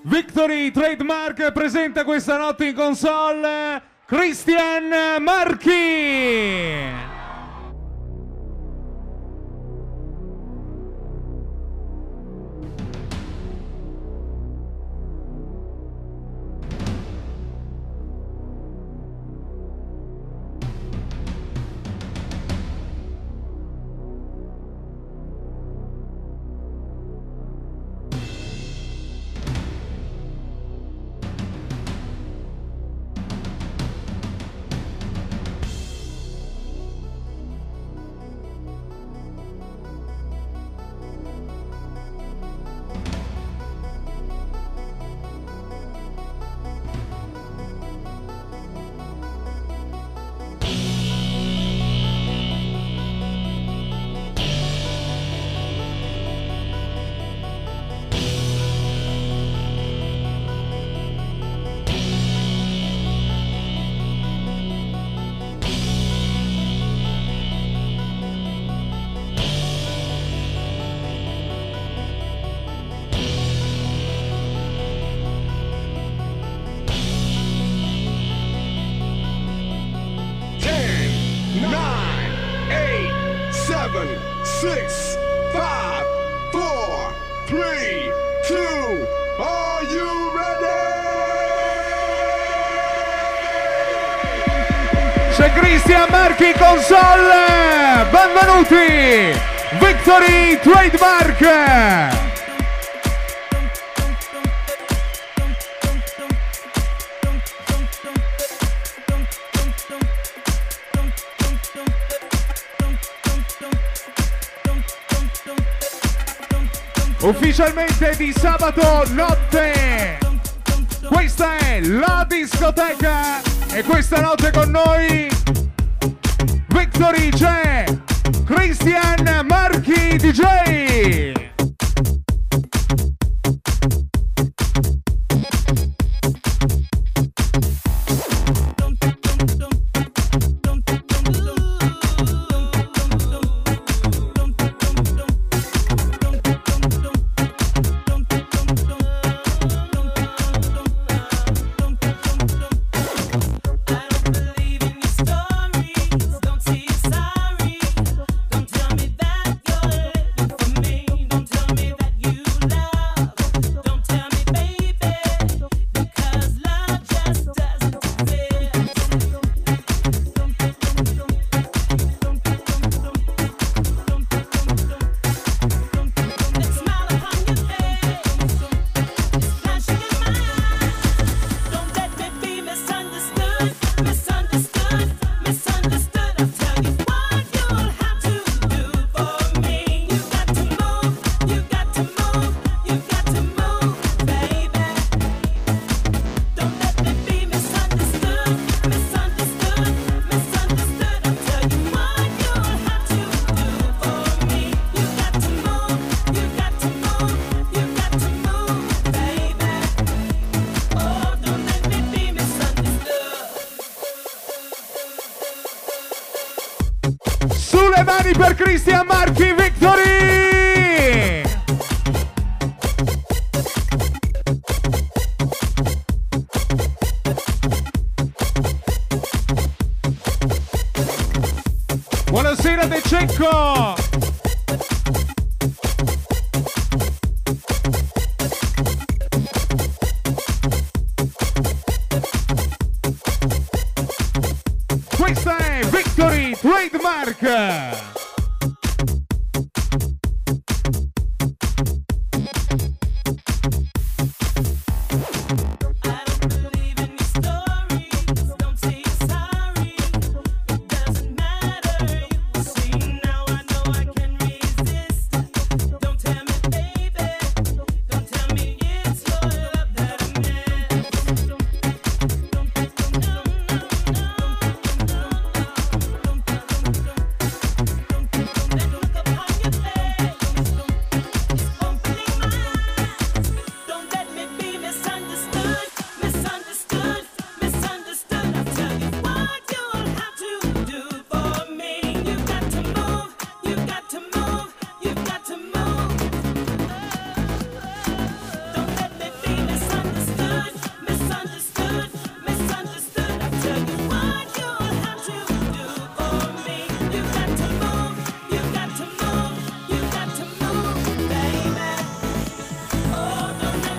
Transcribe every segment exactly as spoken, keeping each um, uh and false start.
Victory Trademark presenta questa notte in console Christian Marchi. six, five, four, three, two, are you ready? C'è Christian Marchi console, benvenuti, Victory Trademark. Ufficialmente di sabato notte, questa è la discoteca e questa notte con noi Victory c'è Christian Marchi D J. Sulle mani per Christian Marchi, Victory! Buonasera De Cecco! Questa è Victory Trademark!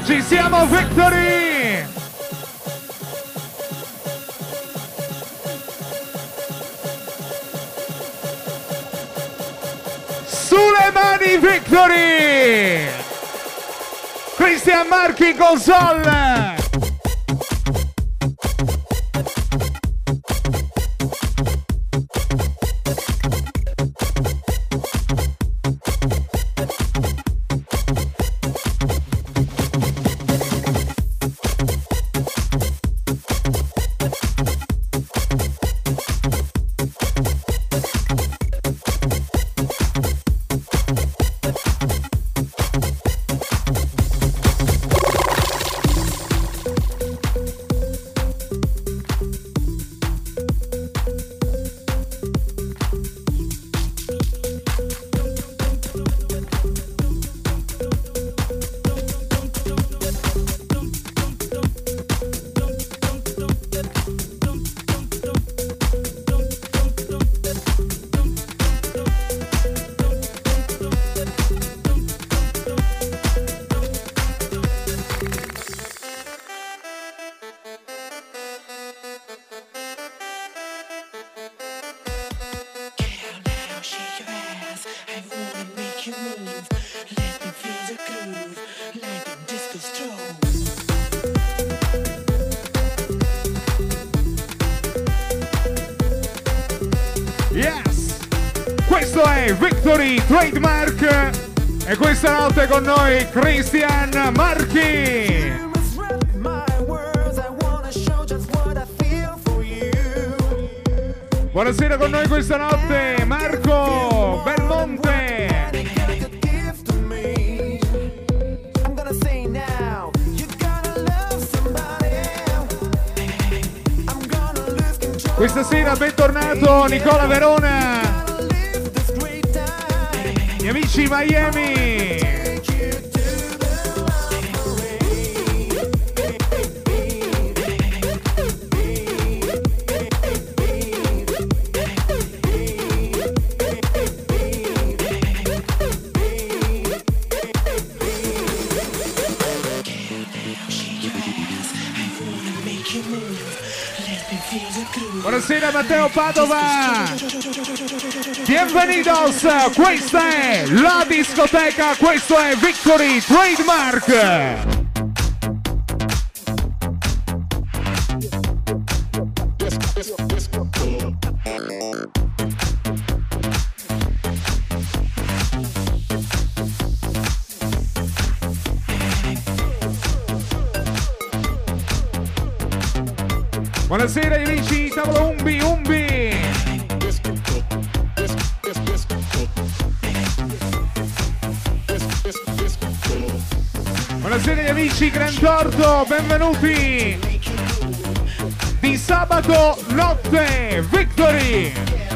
Ci siamo, Victory! Sulle mani, Victory! Cristian Marchi in console! Questo è Victory Trademark e questa notte con noi Cristian Marchi. Buonasera con noi questa notte Marco Belmonte. Questa sera bentornato Nicola Verona. Gli amici Miami. Buonasera Matteo Padova. Bienvenidos, questa è la discoteca, questo è Victory Trademark. Buonasera amici, tavolo Umbi Umbi. Buonasera gli amici Gran Torto, benvenuti. Di sabato notte, Victory.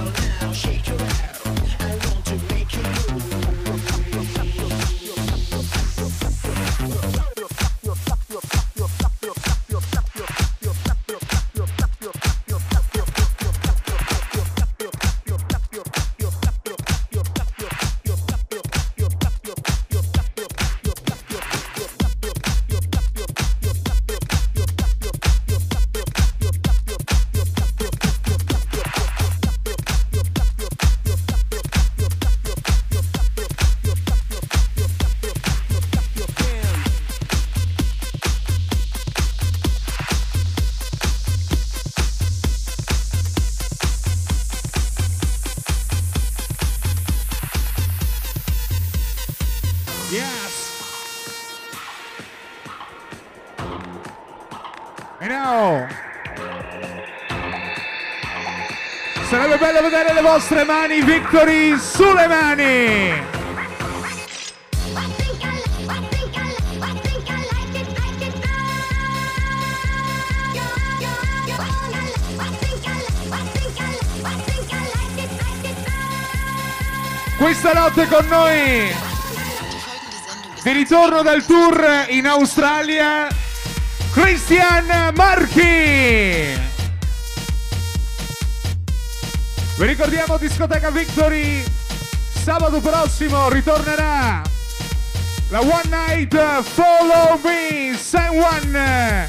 Sarebbe bello vedere le vostre mani, Victory, sulle mani! Questa notte con noi, di ritorno dal tour in Australia, Cristian Marchi! Vi ricordiamo discoteca Victory, sabato prossimo ritornerà La One Night Follow Me, San Juan.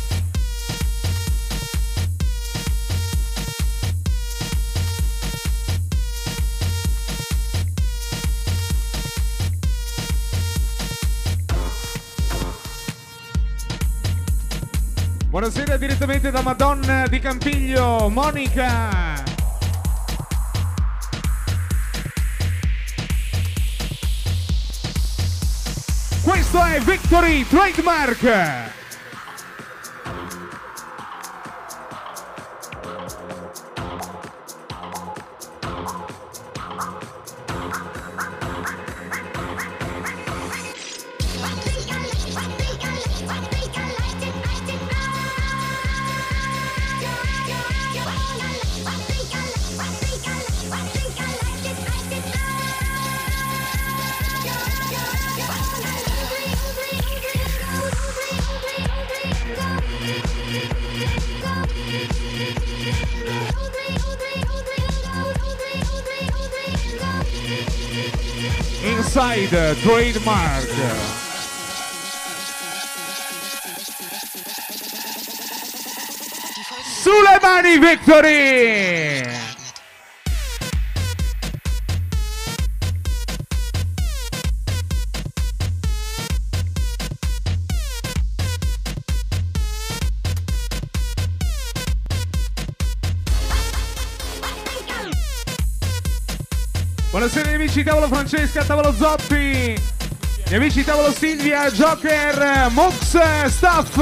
Buonasera direttamente da Madonna di Campiglio, Monica. Questo è Victory Trademark. Inside Trademark. Sulle mani Victory! Buonasera amici tavolo Francesca, tavolo Zoppi, gli amici tavolo Silvia, Joker, Mux, Staff.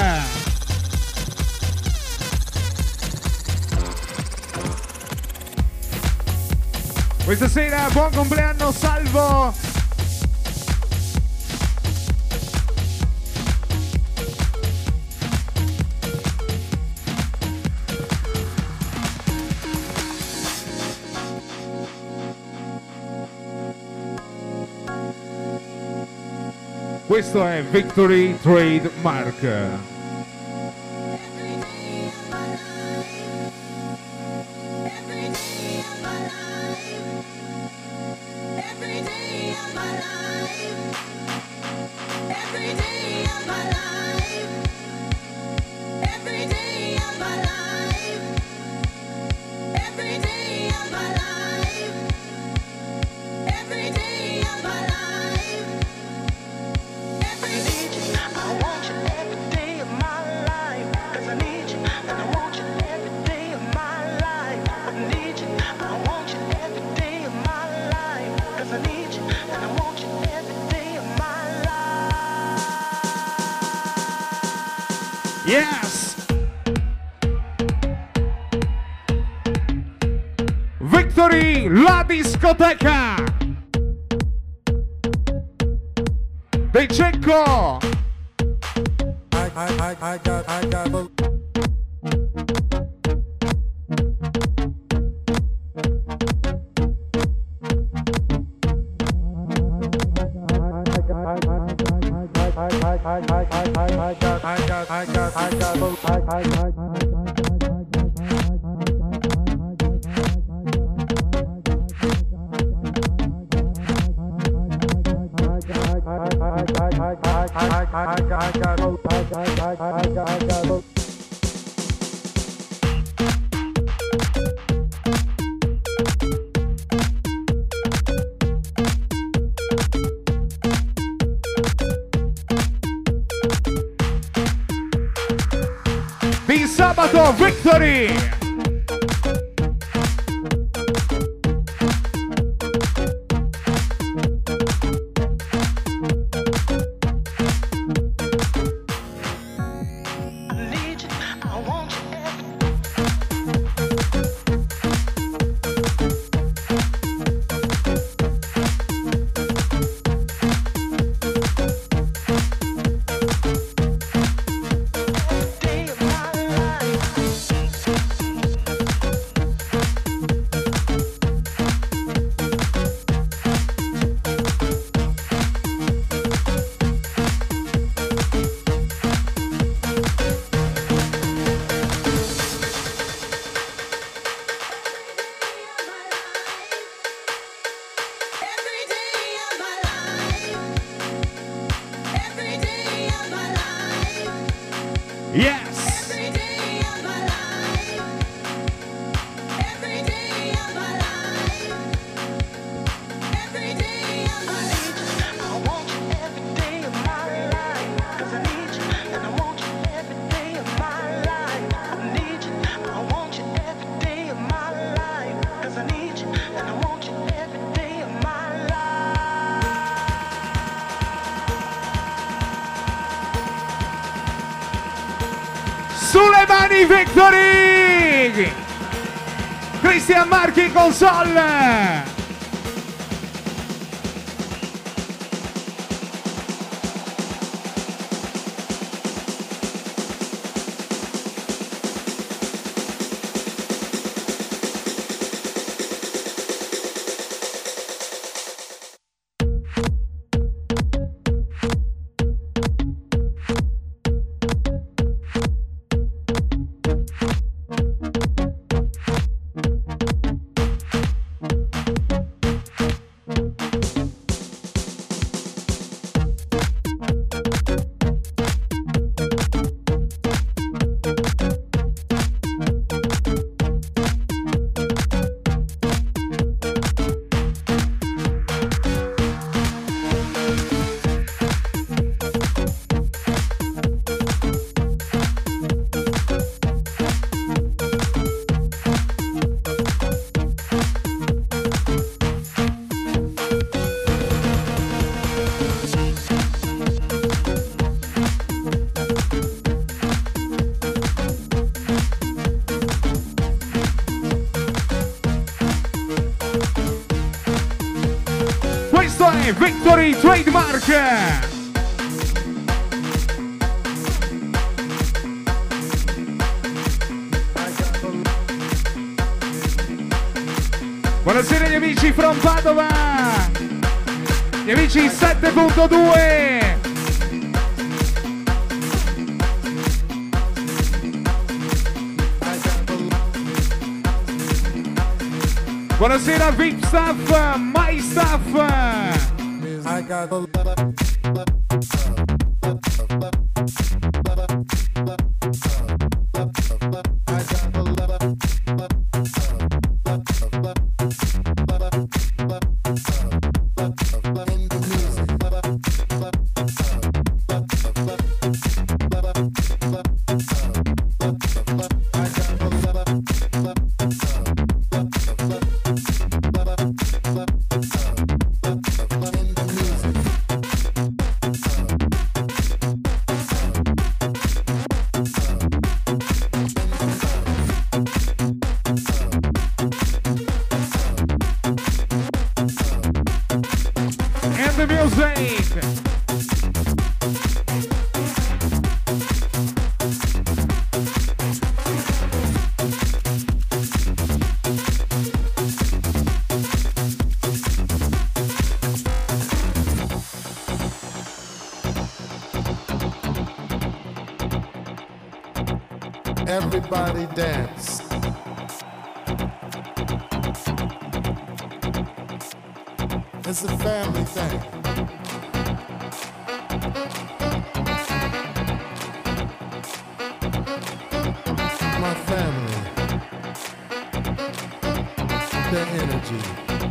Questa sera buon compleanno Salvo. Questo è Victory Trademark. Yes! Victory, la discoteca dei Cecco. I, I, I, I got, I got... Di sabato Victory! Yes! Sulle mani Victory! Cristian Marchi console! Victory Trademark! Buonasera gli amici from Padova! Gli amici sette punto due! Buonasera V I P Staff, My Staff! I got the Everybody dance. It's a family thing. My family, their energy.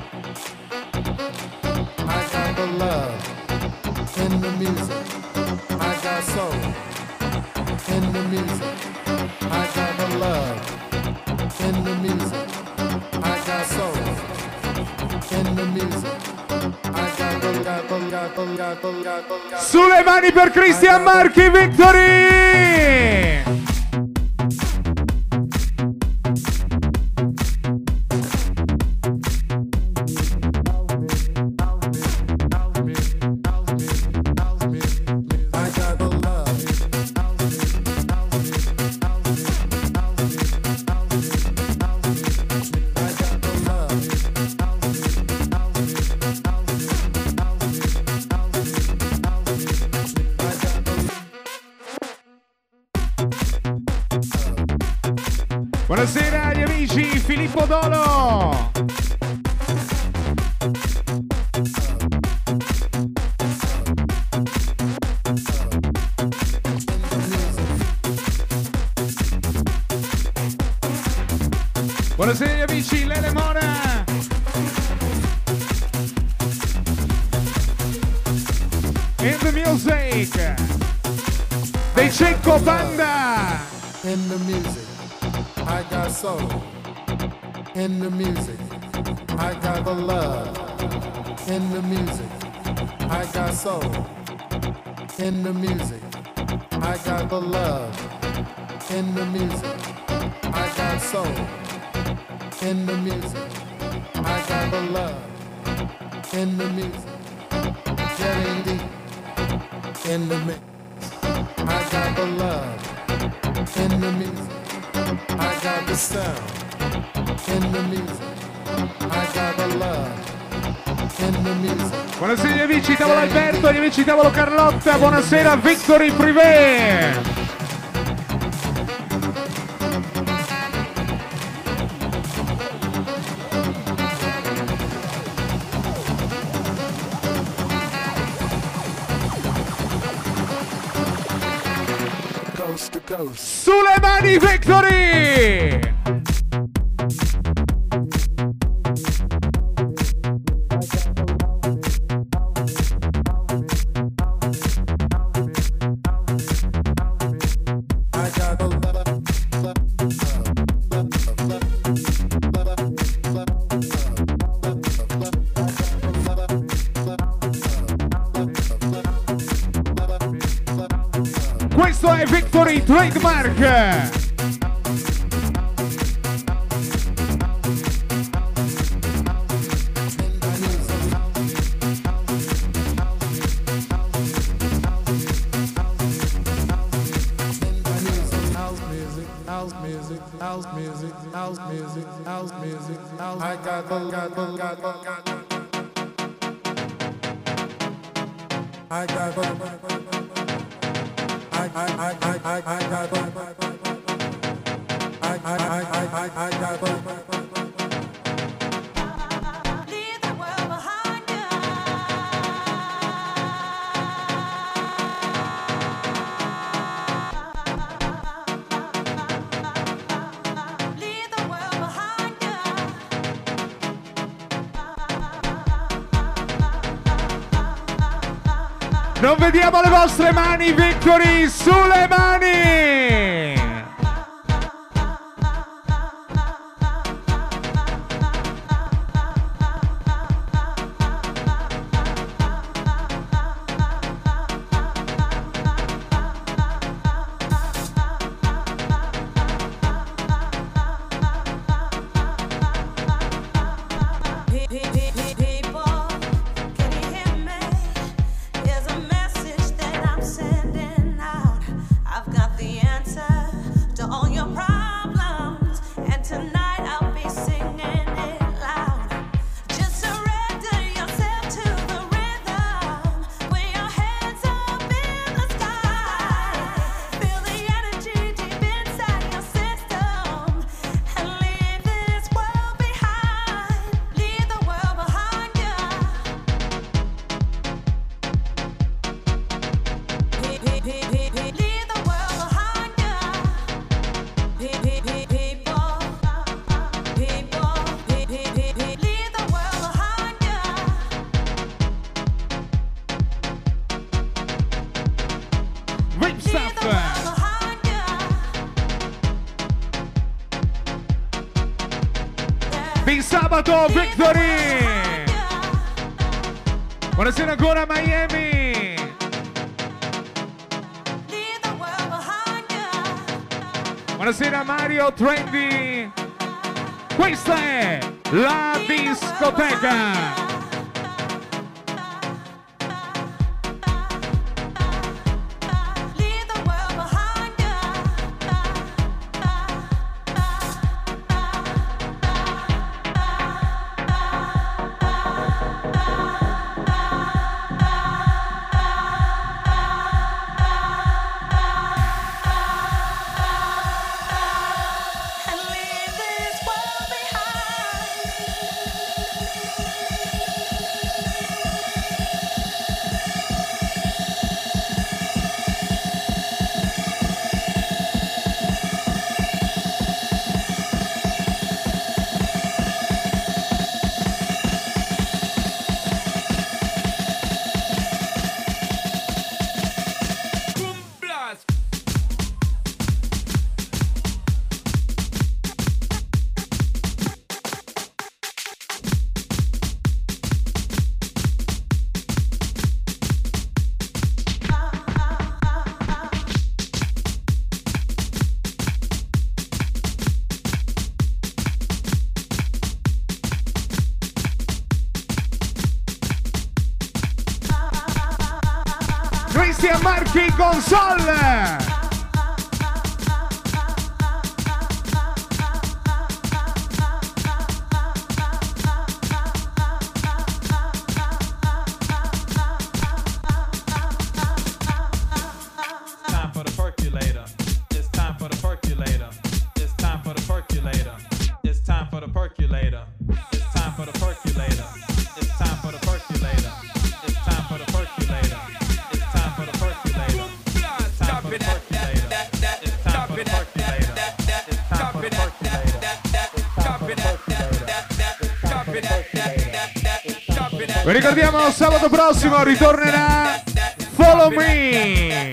I got the love in the music. I got soul in the music. I got the love in the music. I got soul in the music. I got the, got the, got the, got the, got the, got the. Sulle mani per Cristian Marchi Victory! Buonasera agli amici, Filippo Dolo! Buonasera agli amici, Lele Mora. In the music. Dei Cecco Banda. In the music, I got soul. In the music, I got the love. In the music, I got soul. In the music, I got the love. In the music, I got soul. In the music, I got the love. In the music, getting deep. In the mix, I got the love. In the music, I got the sound. In the music, I got the love. In the music. Buonasera agli amici tavolo Alberto, agli amici tavolo Carlotta, buonasera Victory Privé. Coast to coast. Sulle mani Victory! Questo è Victory Trademark. I got I, I, I, I, I, I got I, I, I, I, I, I got Leave the world behind you. Leave the world behind you. Non vediamo le vostre mani, Victory, sulle mani! Di sabato Victory! Buonasera ancora Miami! Buonasera Mario Trendy! Questa è la discoteca! Cristian Marchi console. Vi ricordiamo, sabato prossimo ritornerà Follow Me.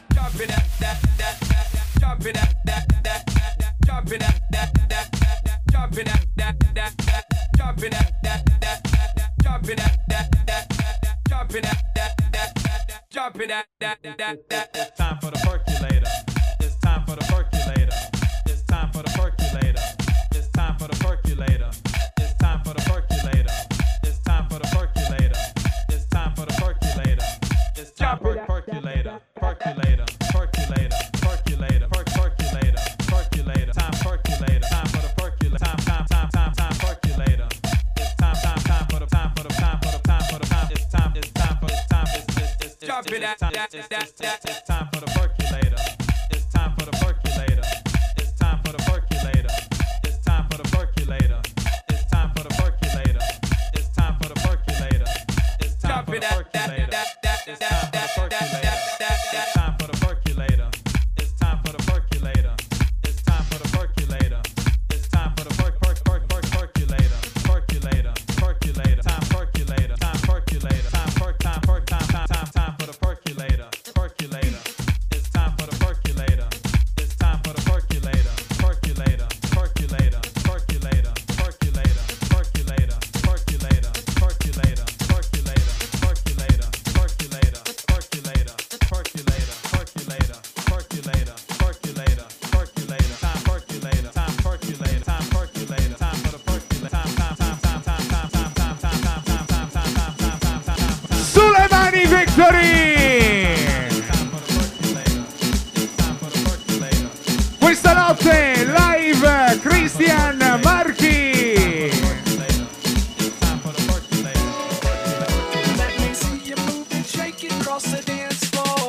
It's time for the percolator. It's time for the percolator. It's time for the percolator. It's time for the percolator. It's time for the percolator. It's time for the percolator. It's time for the percolator. It's time for percolator. Percolator. Percolator. Percolator. Percolator. Percolator. Time percolator. Time for the percolator. Time time time time time percolator. It's time time time for the time for the time for the time for the time. It's time it's time for it's time it's it's it's it's time it's it's time for the percolator. It's time for the percolator. It's time for the percolator. It's time for the percolator. It's time for the percolator. It's time for the percolator. It's time for the percolator. It's time for the percolator. It's time for the percolator. It's time for the percolator. It's time for the percolator. It's time for the perc perc perc perc percolator. Percolator. Percolator. Time percolator. Time percolator. Time perc time perc time time time time for the percolator. Percolator. It's time for the percolator. It's time for the percolator. Percolator. Percolator. Percolator. Percolator. Percolator. Percolator. Percolator. Percolator. Percolator. Percolator. Percolator. Percolator. Percolator. Percolator. Percolator. Percolator. Time percolator. Time percolator. Time percolator. Time for the percolator. Time time time time time time time time time time time time time time time time time. Sulle mani Victory! Questa notte live Cristian Marchi. Let me see you move and shake it across the dance floor.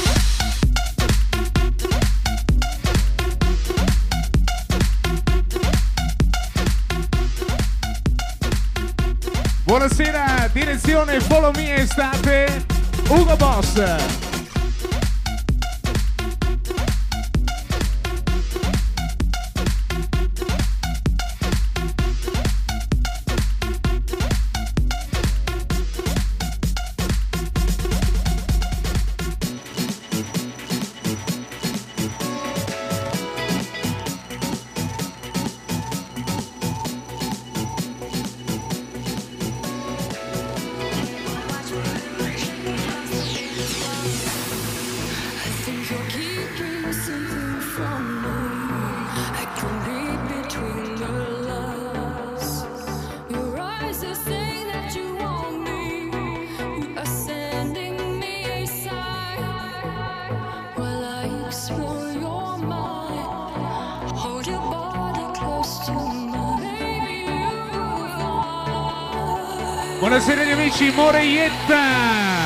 Buonasera, direzione Follow Me Estate, Ugo Boss. Buonasera gli amici, Moreietta.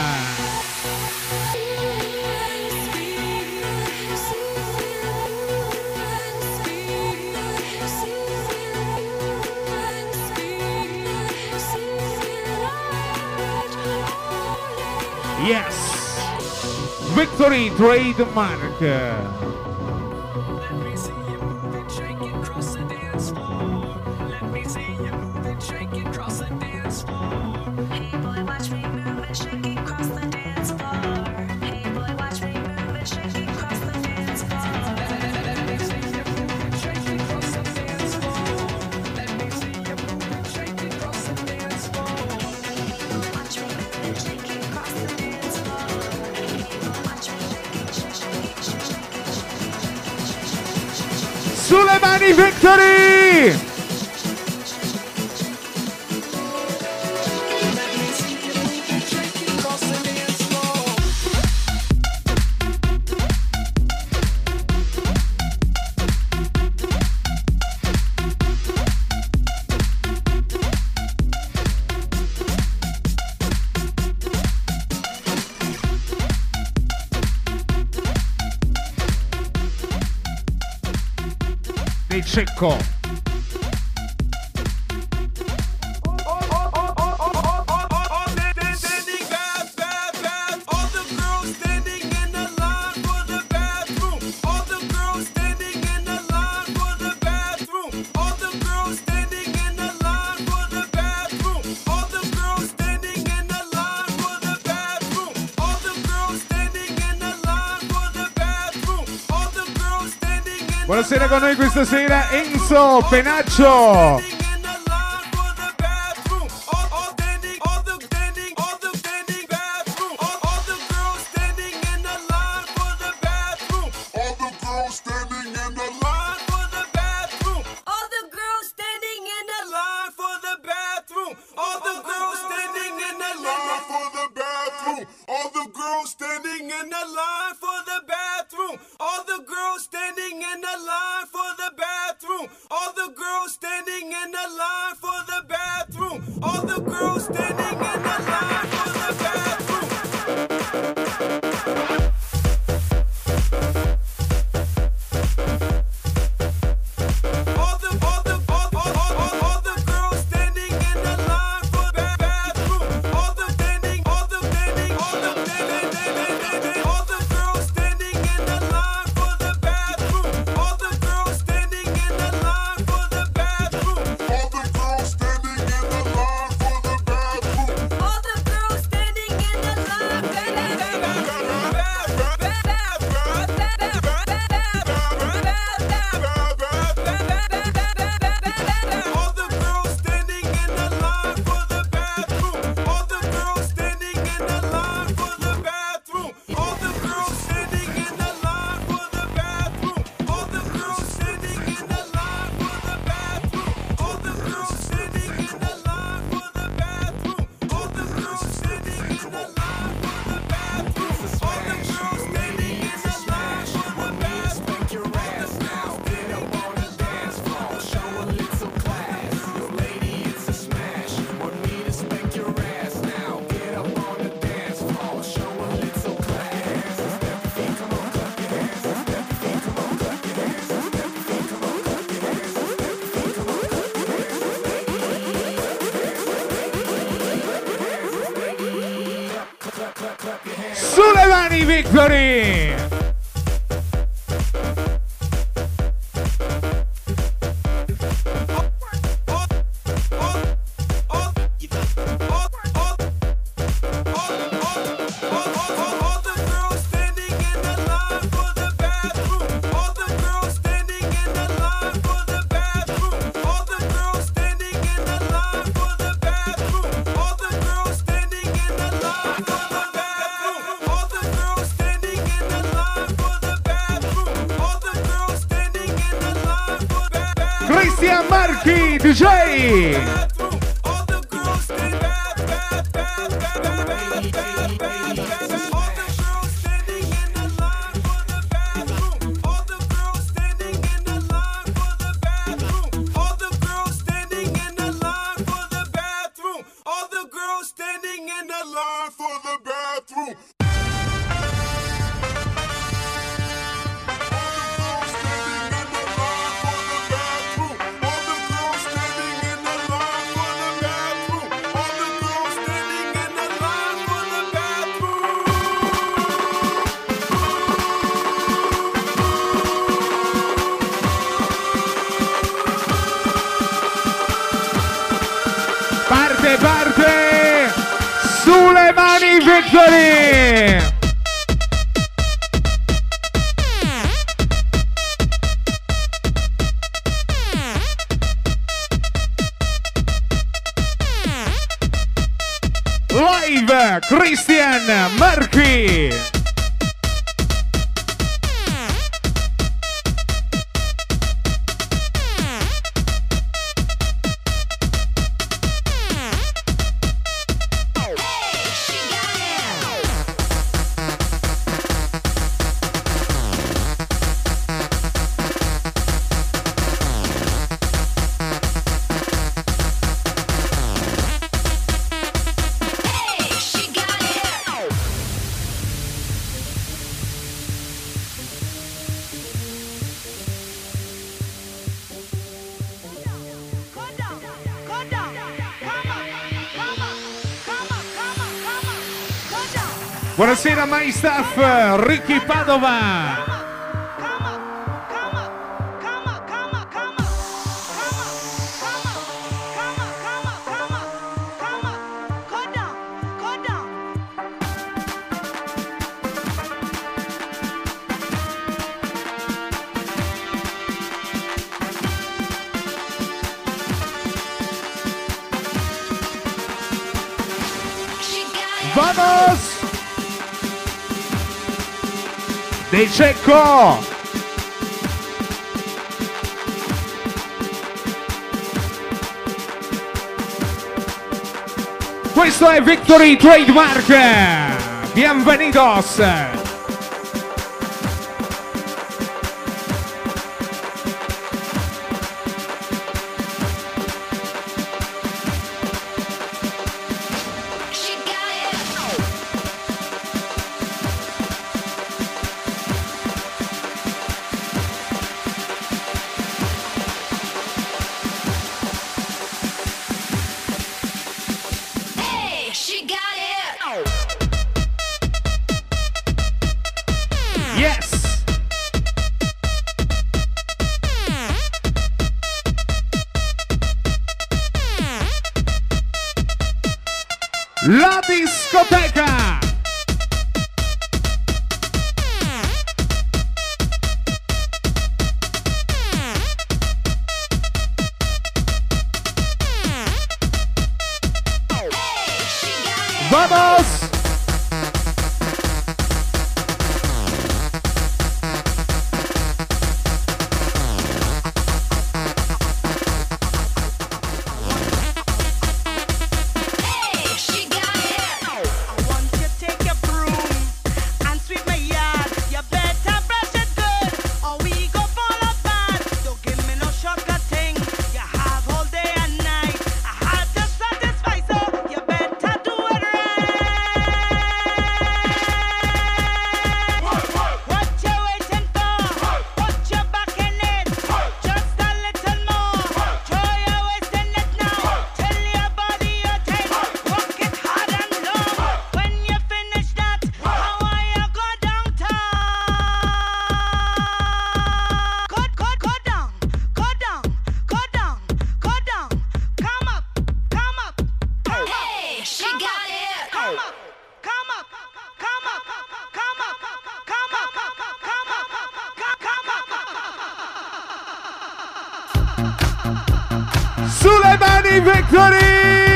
Yes, Victory Trademark. Let me see you move and shake it across the dance floor. Let me see you move and shake it across the dance floor. Hey boy, watch me move and shake it across the dance floor. Hey boy, watch me move and shake it across the dance floor. Let me see you move and shake it across the dance floor. Let me see you move and shake it across the dance floor. Watch me move and shake it across the dance floor. Hey boy, watch me shake it, shake it, shake it, shake it, shake it, shake it. Sulle mani Victory! Let me see you move and shake it across the dance floor. dei Cecco. Buonasera con noi questa sera Enzo Penaccio. Sulle mani Victory! Cristian Marchi D J. Parte, parte! Sulle mani Victory! Live Cristian Marchi! Buonasera my staff, Ricky Padova. ¡Vamos! De Cecco! Questo è Victory Trademark! Bienvenidos! La discoteca! ¡Vamos! Sulle mani Victory!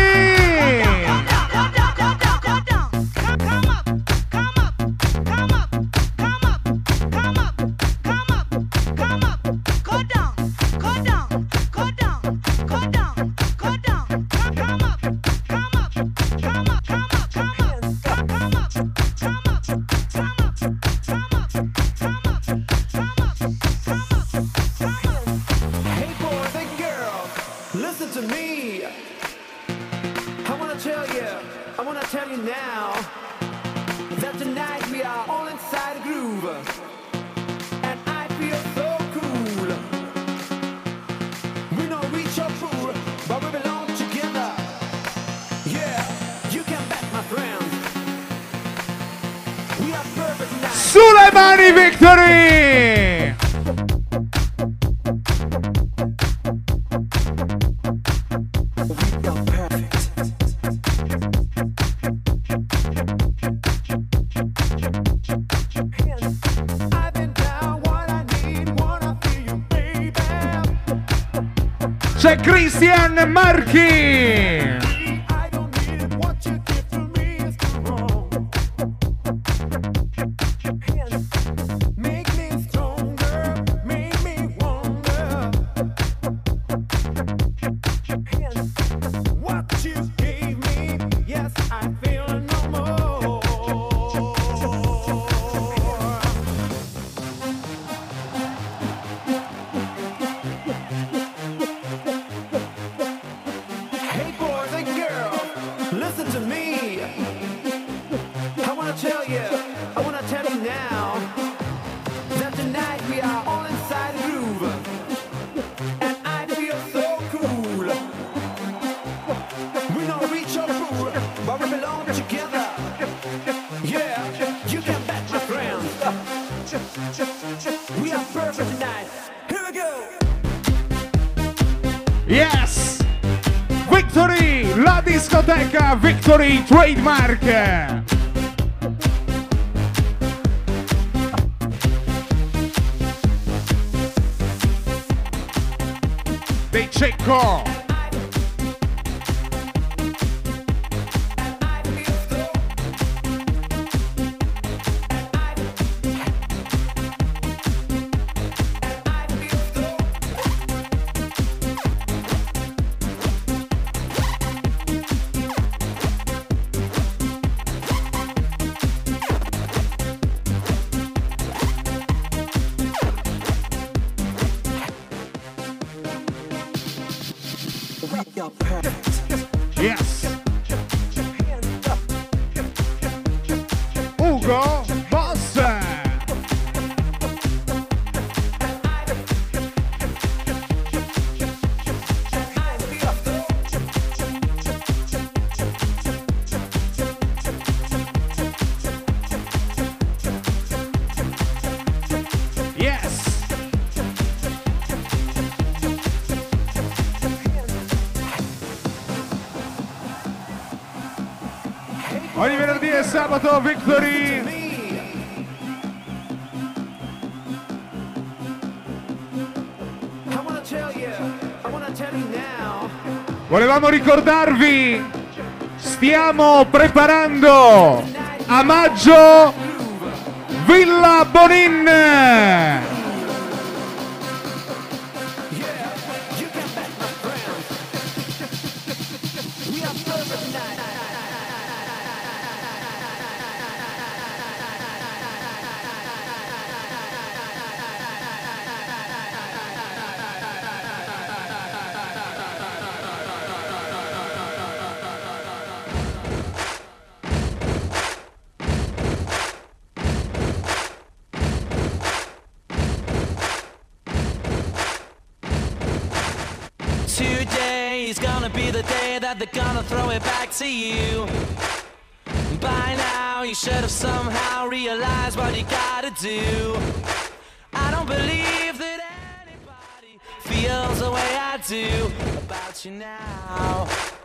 Sulle mani Victory! C'è Christian Marchi! Hey boys perfect tonight. Here we go. Yes! Victory! La discoteca Victory Trademark! Dei Cecco! Yes! Ugo Boss! Yes! Ogni venerdì e sabato Victory! Volevamo ricordarvi, stiamo preparando a maggio Villa Bonin! Today's gonna be the day that they're gonna throw it back to you. By now you should have somehow realized what you gotta do. I don't believe that anybody feels the way I do about you now.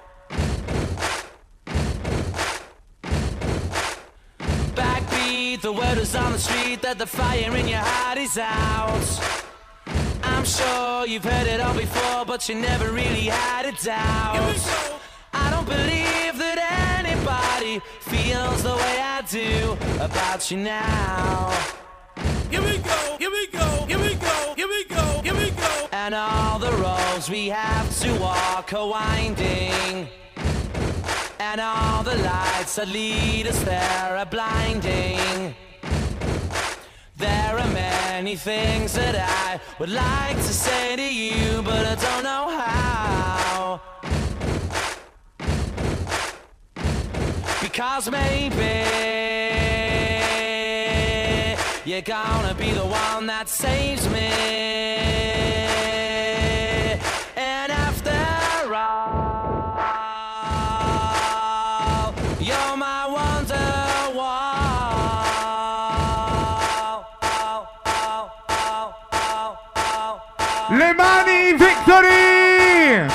Backbeat, the word is on the street that the fire in your heart is out. I'm sure you've heard it all before, but you never really had a doubt. I don't believe that anybody feels the way I do about you now. Here we go, here we go, here we go, here we go, here we go. And all the roads we have to walk are winding. And all the lights that lead us there are blinding. There are many things that I would like to say to you, but I don't know how. Because maybe you're gonna be the one that saves me. And after all, you're my wonderwall. Le mani Victory!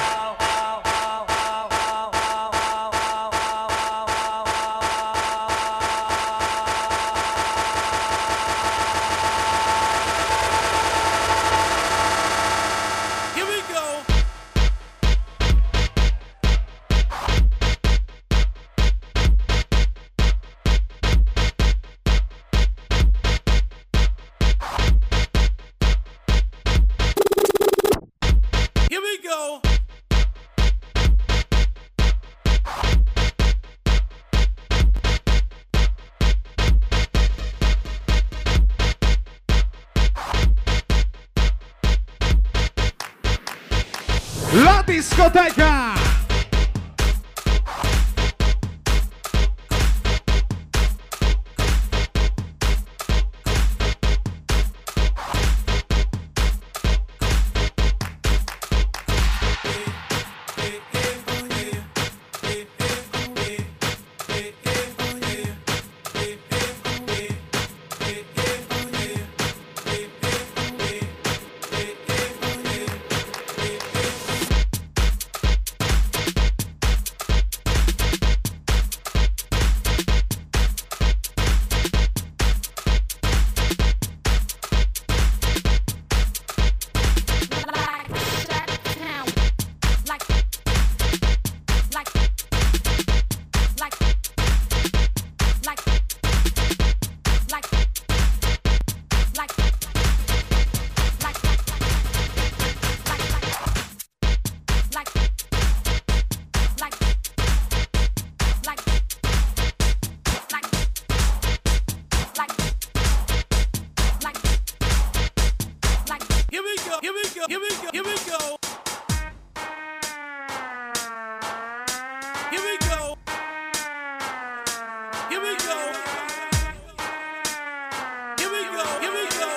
Here we go. Here we go. La discoteca! here we go, here we go, here we go. Here we go. Here we go. Here we go, here we go.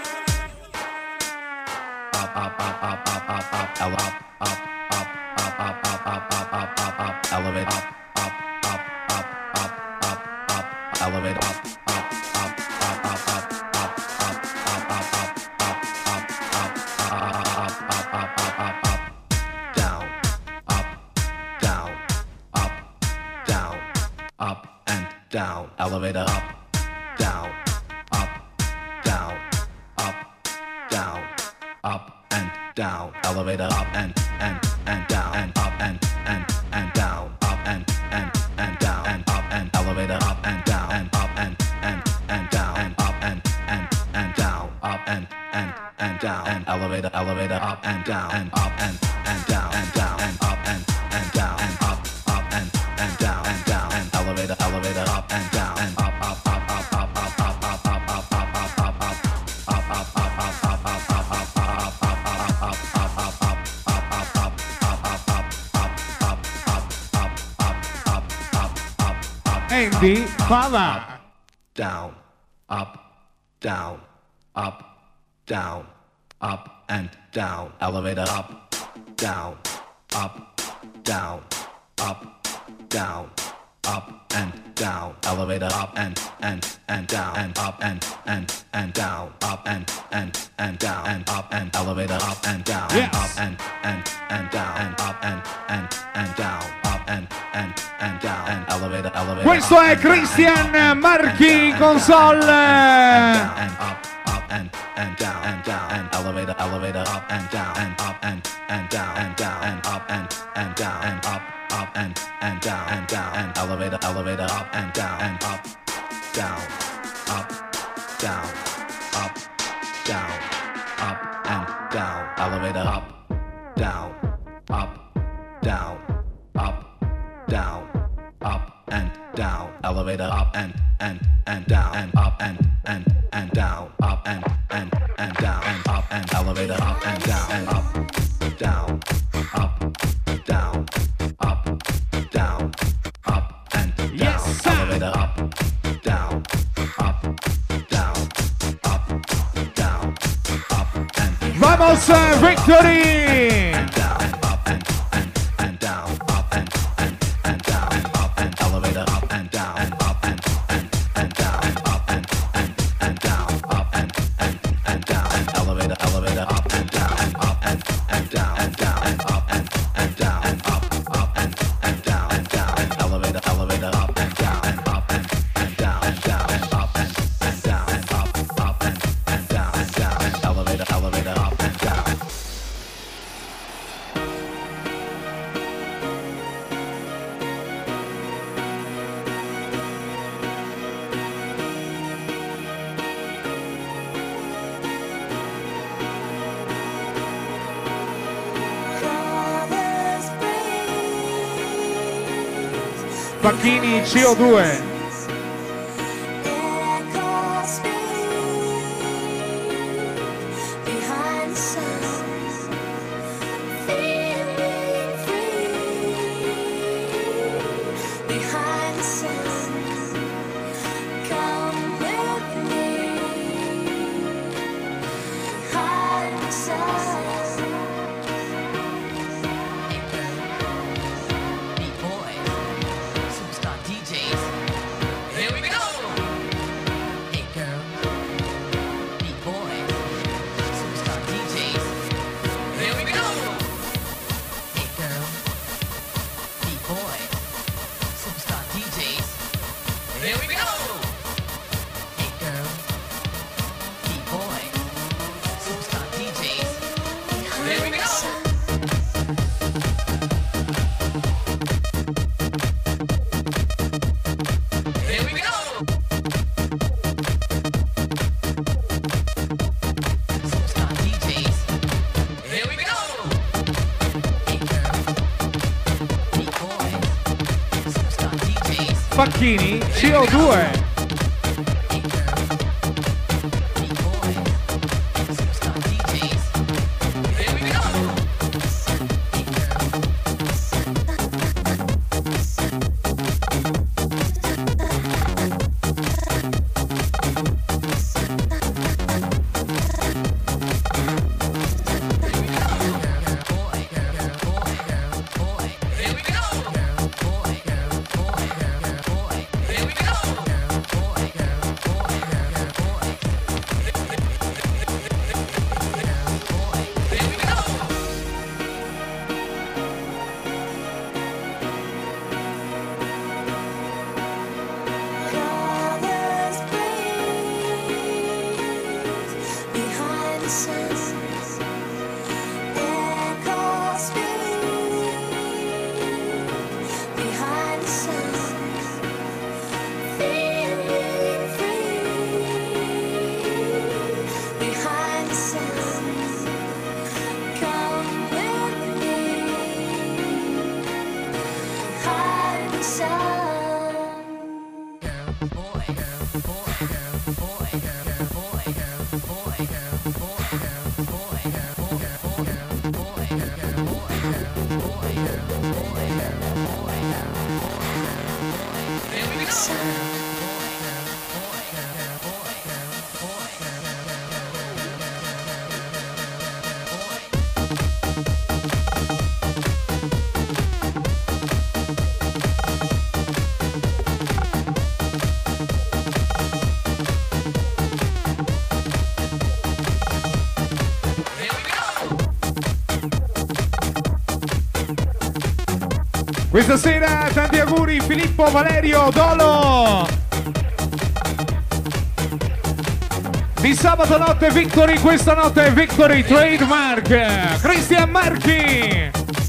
Up, up, up, up, up, up, up, ele- up, up, up, up, up, up, up, up, up, up, up, elevate up, up, up, up, up, up, up, elevate up, up, up, up, up, up, up, up, up, up, up, up, up, up, up, up, up, down, up, down, up, down, up and down, elevator up, down, up, down, up, down, up and down, elevator up and and and down and up and and and down, up and and and down and up and elevator up and down and up and and and down and up and and and down, up and and and down and elevator elevator up and down and up and and down and down and up and and down and up up and and down and down and elevator elevator up and down and up up up up up up up up up up up up up up Andy Fava. Down, up, down, up, down, up and down, elevator up, down, up, down, up, down, up and down, elevator up and and and down and up and and and down, up and and and down and up and elevator up and down and Yes. up and and and down and up and and and down, up and and and down and elevator elevator. Questo è Christian Marchi console. And up, up and and down and down and elevator elevator up and down and up and and down and down and up and and down and up up and and down and down and elevator elevator up and down and up down up down up down up and down, elevator up down up down up down up and down, elevator up and and and down and up and and and down, up and and and down and up and elevator up and down and up down up down up down up and down, Yes, sir. elevator up down up down up down up and Vamos Victory. and down and up and and and down, up and and and down and up and elevator up and down and up and and and down and up and and and down, up and and and down and elevator elevator up and down and up and and down and down and up and and down and up up and and down and down and elevator elevator up and down and up and and down and down and up and and down and up up and and down and down and elevator elevator up and down. Facchini C O due. Facchini C O due. Questa sera tanti auguri Filippo, Valerio, Dolo. Di sabato notte Victory, questa notte è Victory Trademark. Cristian Marchi.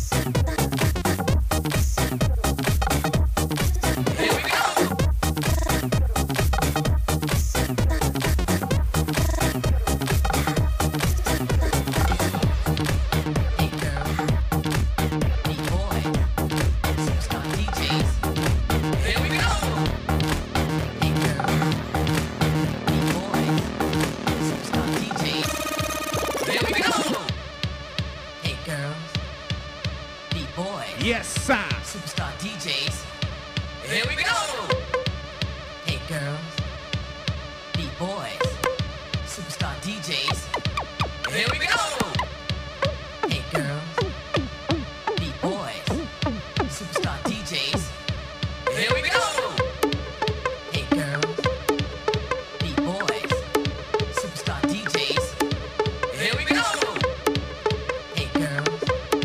Yes, sir. Superstar D Js. Here we go. Hey girls, B-boys, superstar D Js. Here we go. Hey girls, B-boys, superstar D Js. Here we go. Hey girls, B-boys, superstar D Js. Here we go. Hey girls,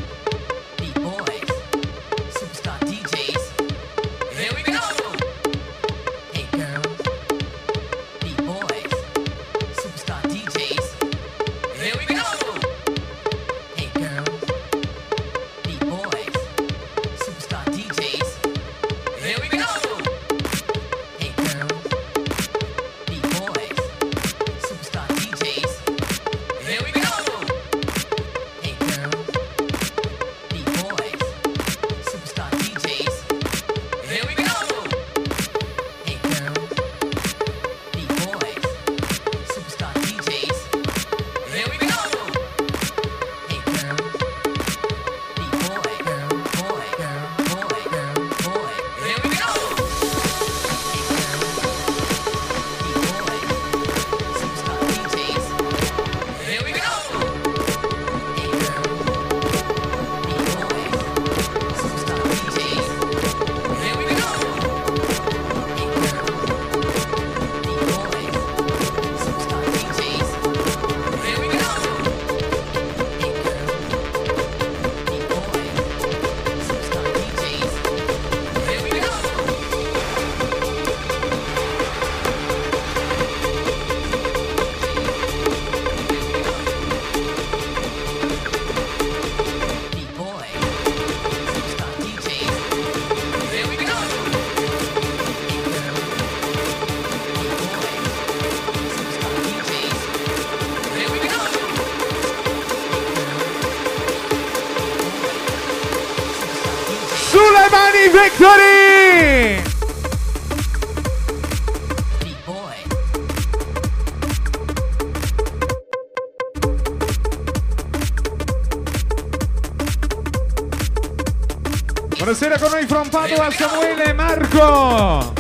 B-boys, superstar D Js. Here we go. Hey girls, B-boys, superstar D Js. Here we go. Hey girls, B-boys, superstar D Js. Here we go. Hey girls, B-boys, superstar D Js. Here we go. Hey girls, B-boys, superstar D Js. Here we go. Hey girls, B-boys, superstar D Js. Here we go. Hey girls, B-boy, girl, boy, girl, boy, girl, boy. Here we go. Hey girls, B-boys, superstar D Js. Here we go. Hey girls, B-boys, superstar D Js. Here we go. Hey girls, B-boys, superstar D Js. Here we go. Hey girls, B-boys, superstar D Js. Here we go. B-boy, superstar D Js. Here we go. Hey girls, B-boy, superstar D Js. Here we go. Sulle mani Victory! B-boy. Buonasera con noi from Padova Samuele e Marco.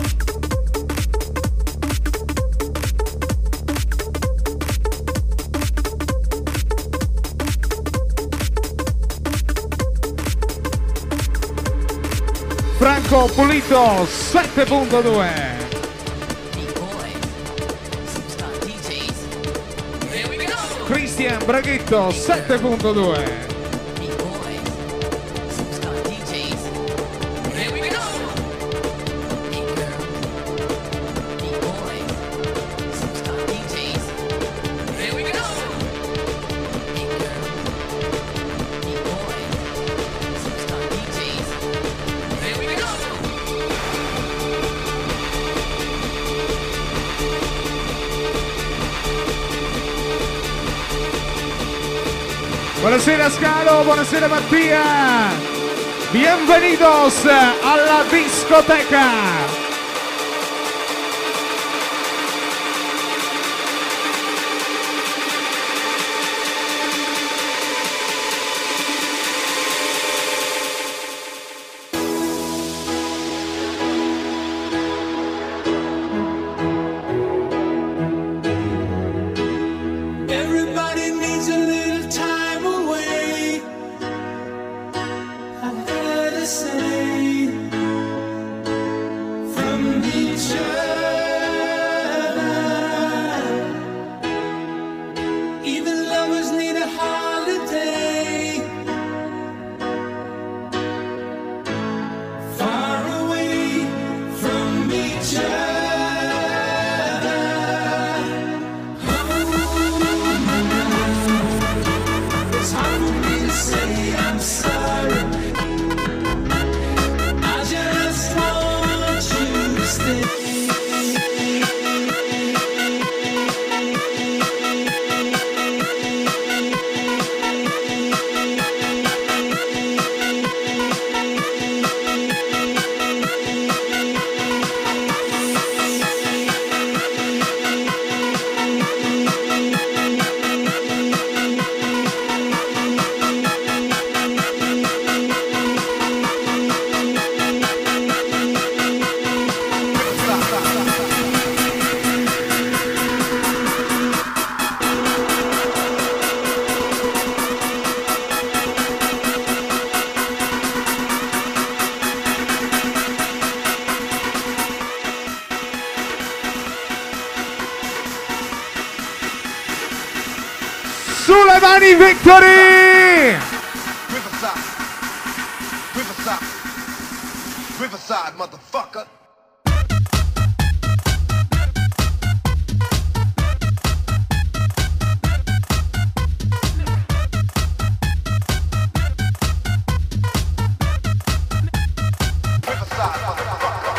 Franco Pulito sette punto due. B-boy, superstar D Js. Here we go. Cristian Braghetto sette punto due. B-boy, superstar D Js. Here we go. Hey girls, B-boy, superstar D Js. Here we go. Hey girls, B-boy, superstar D Js. Here we go. Buonasera Scalo, buonasera Mattia. Bienvenidos alla discoteca. Everybody needs a little time away. I heard it say mani, Victory! Riverside. Riverside. Riverside, motherfucker. Riverside, motherfucker.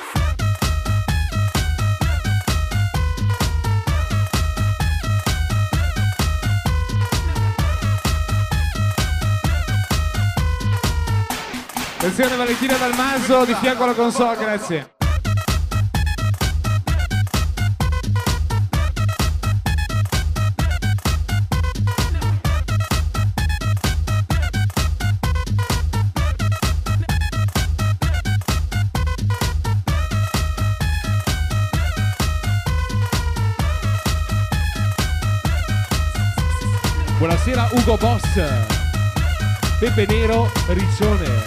Attenzione Valentina Dalmaso di fianco alla console, grazie. Buonasera Ugo Boss, Pepe Nero, Riccione.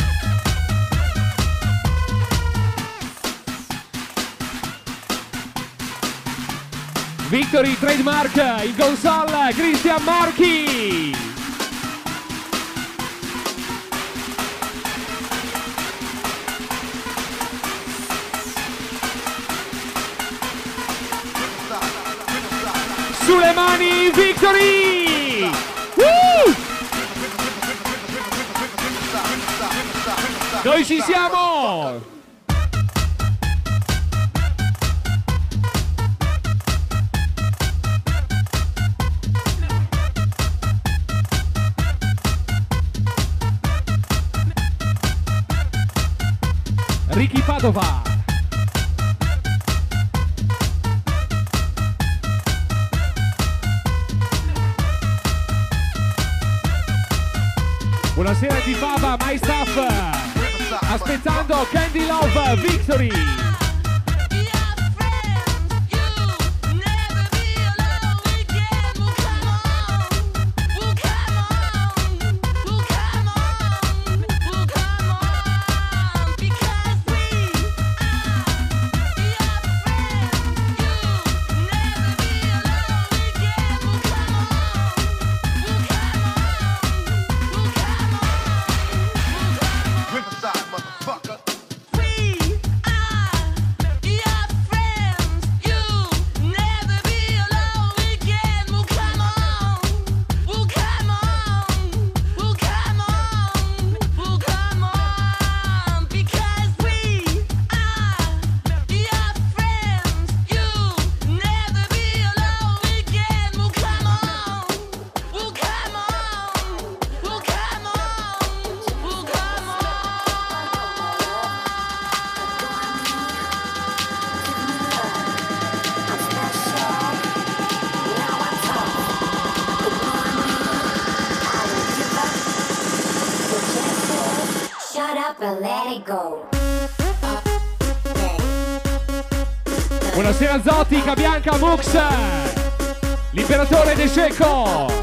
Victory Trademark, in console Cristian Marchi. Sulle mani Victory! Woo! Noi ci siamo! Ricky Padova. Buonasera di Fava, My Stuff. Aspettando Candy Love, Victory. Buonasera Zotica, Bianca Mux, l'imperatore De Cecco.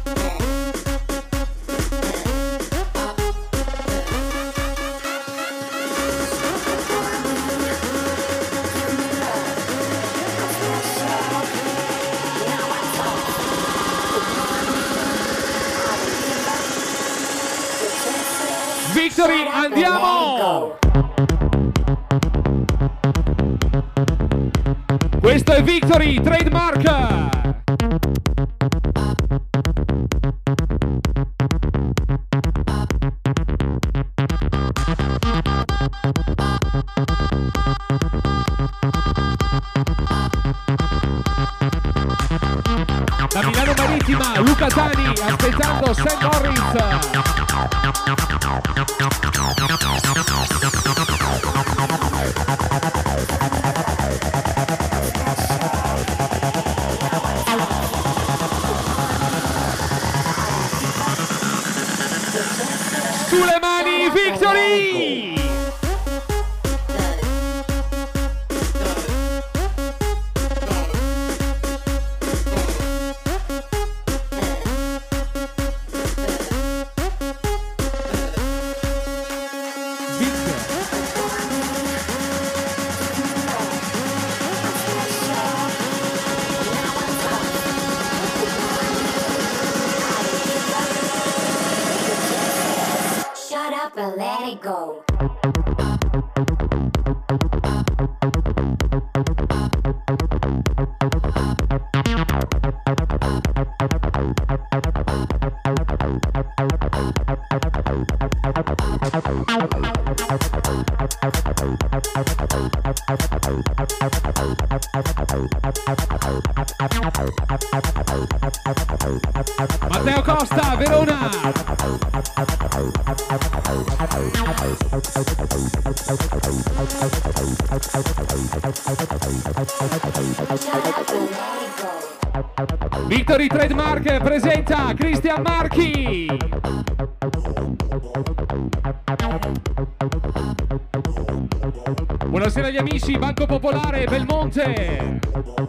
Victory, andiamo! Questo è Victory, Trademark! Da Milano Marittima, Luca Tani, aspettando Sam Morris! Sulle mani, Victory! body go. Matteo Costa, Verona. Victory Trademark presenta Cristian Marchi. Buonasera agli amici, Banco Popolare, Belmonte.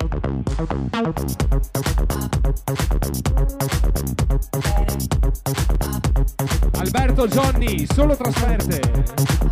Alberto Johnny, solo trasferte.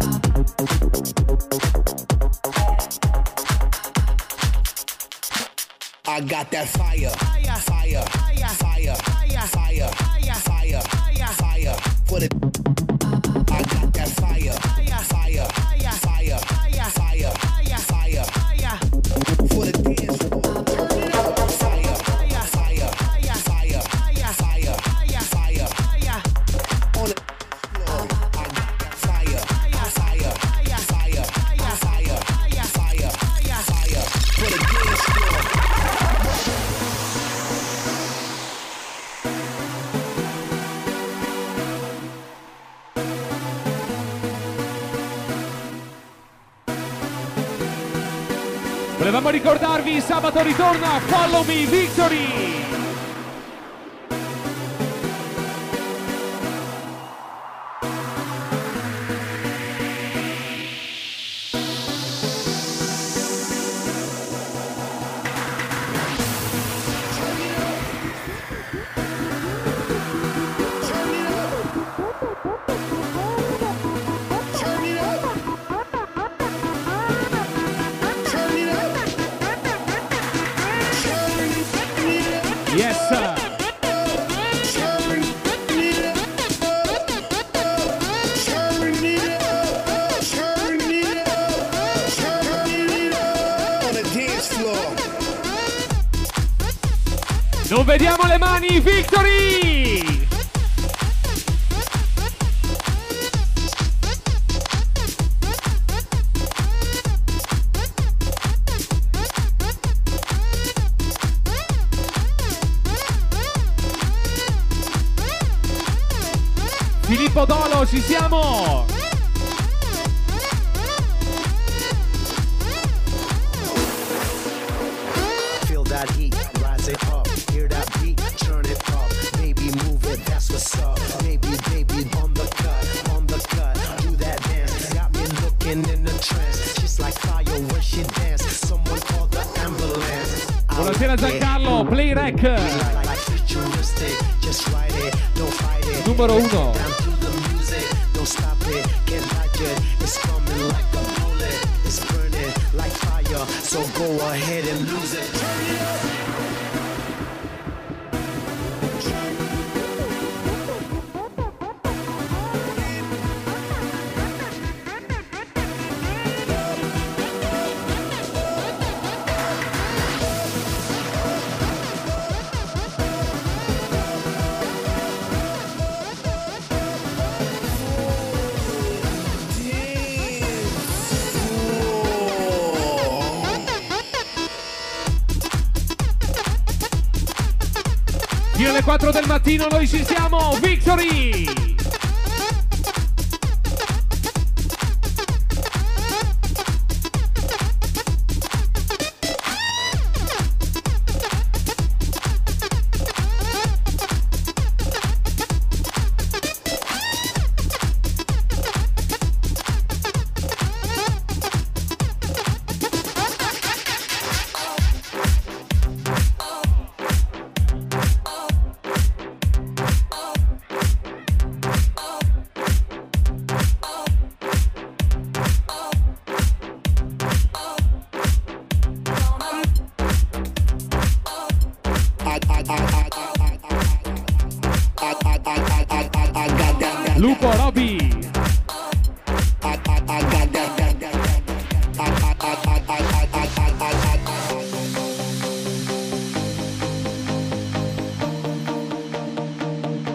I got that fire, fire, fire, fire, fire, fire, fire, fire, fire for the. I got that fire, fire, fire, fire, fire, fire, fire, fire for the dance floor. Fire, fire, fire, fire, fire, fire, fire on the floor. I got that fire, fire, fire, fire, fire, fire, fire for the dance floor. Volevamo ricordarvi, sabato ritorna Follow Me Victory. Yes, sir. Non vediamo le mani, Victory! Filippo Dolo, ci siamo! Feel that heat, rise it up, hear that beat, turn it up, baby move it, that's what's up, baby, baby, on the cut, on the cut, do that dance, got me looking in a trance, she's like fire when she dance, someone call the ambulance. Buonasera Giancarlo, Play Rec. Numero uno. Don't stop it, can't dodge it, it's coming like a bullet, it's burning like fire, so go ahead and lose it. Turn it up. Fino alle quattro del mattino noi ci siamo, Victory! Lupo, Roby.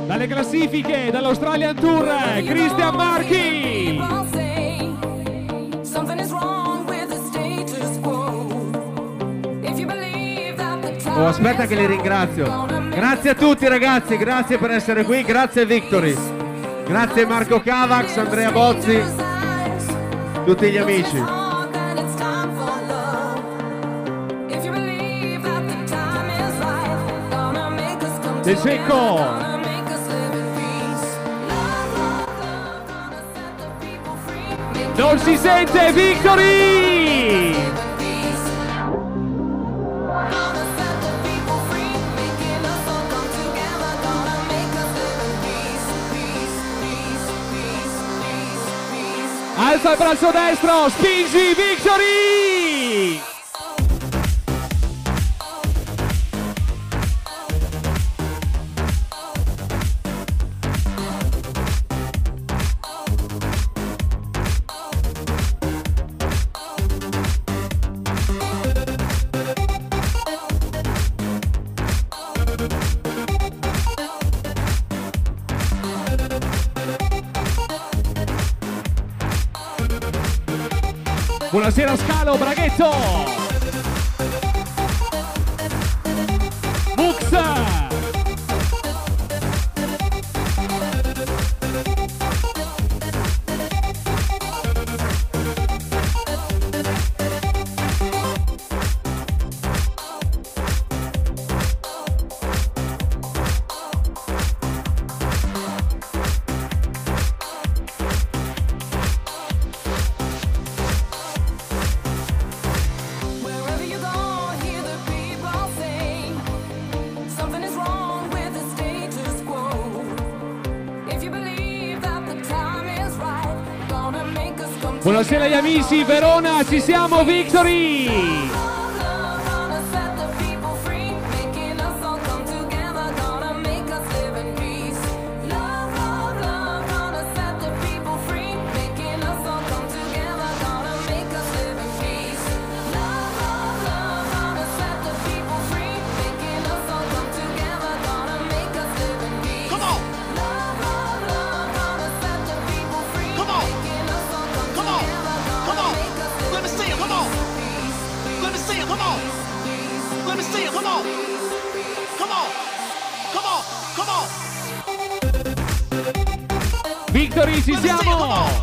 Dalle classifiche, dall'Australian Tour, Christian Marchi. Oh, aspetta che li ringrazio. Grazie a tutti ragazzi, grazie per essere qui, grazie Victory. Grazie Marco Cavax, Andrea Bozzi, tutti gli amici. De Secco. Non si sente Victory! Alza il braccio destro, spingi Victory! Buonasera Scalo, Braghetto! Mux! Buonasera agli amici, Verona, ci siamo, Victory! Victory, ci siamo!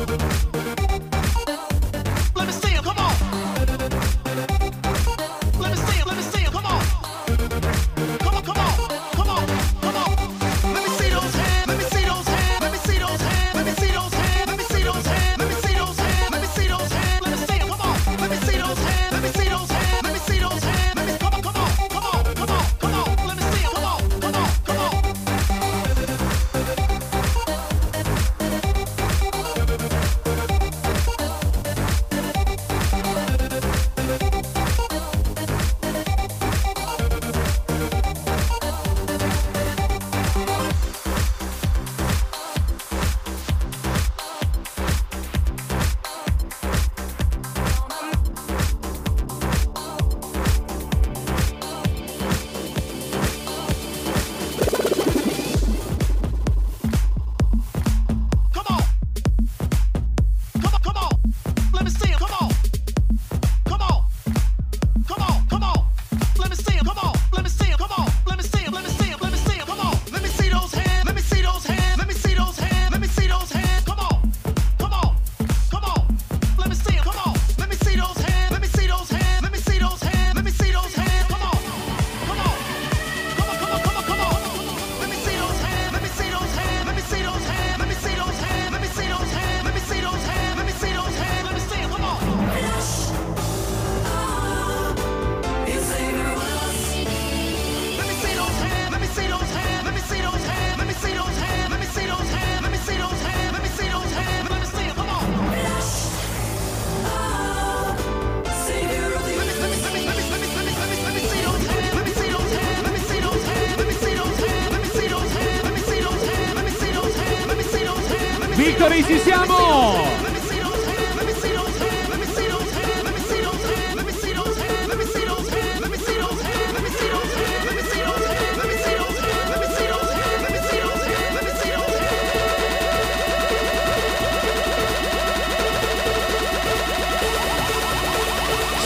Victory, ci siamo!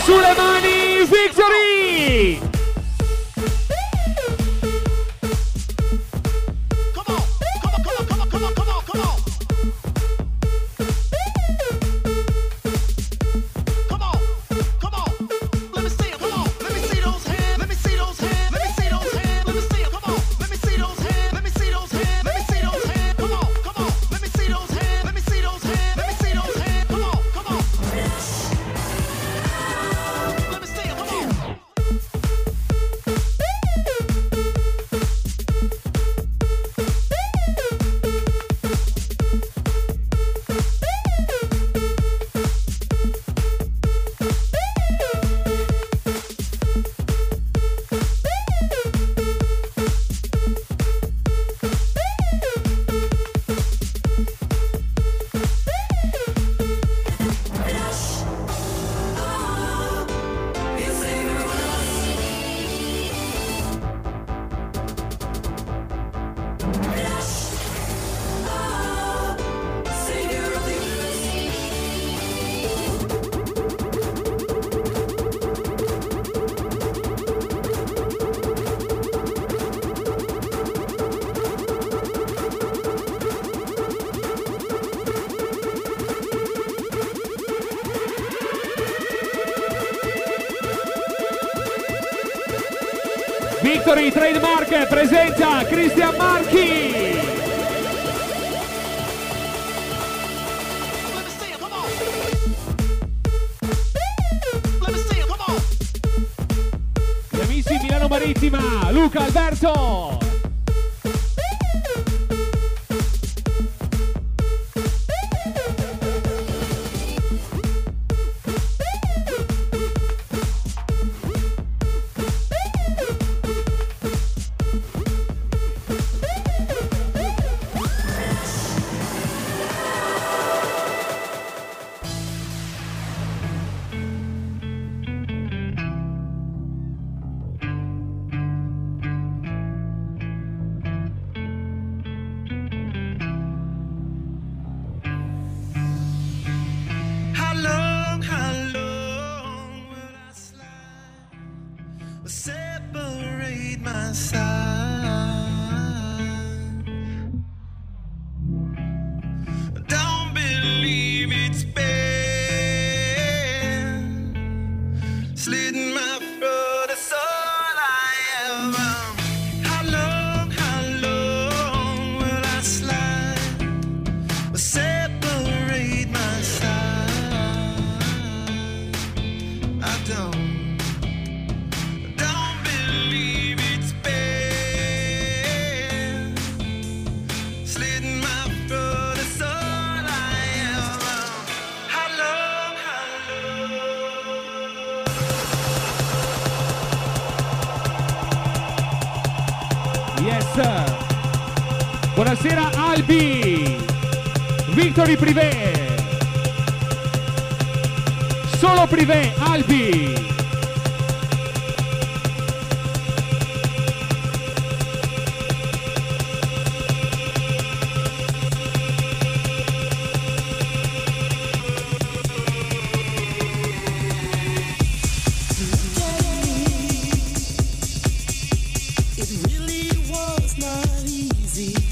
sulle mani, Victory! Victory Trademark presenta Christian Marchi. Gli amici Milano Marittima, Luca Alberto. Separate my side. Don't believe it's been slitting my throat. That's all I ever. How long, how long will I slide? Separate my side. I don't. Yes. Buonasera Albi. Victory Privé. Solo Privé, Albi. It really was not easy.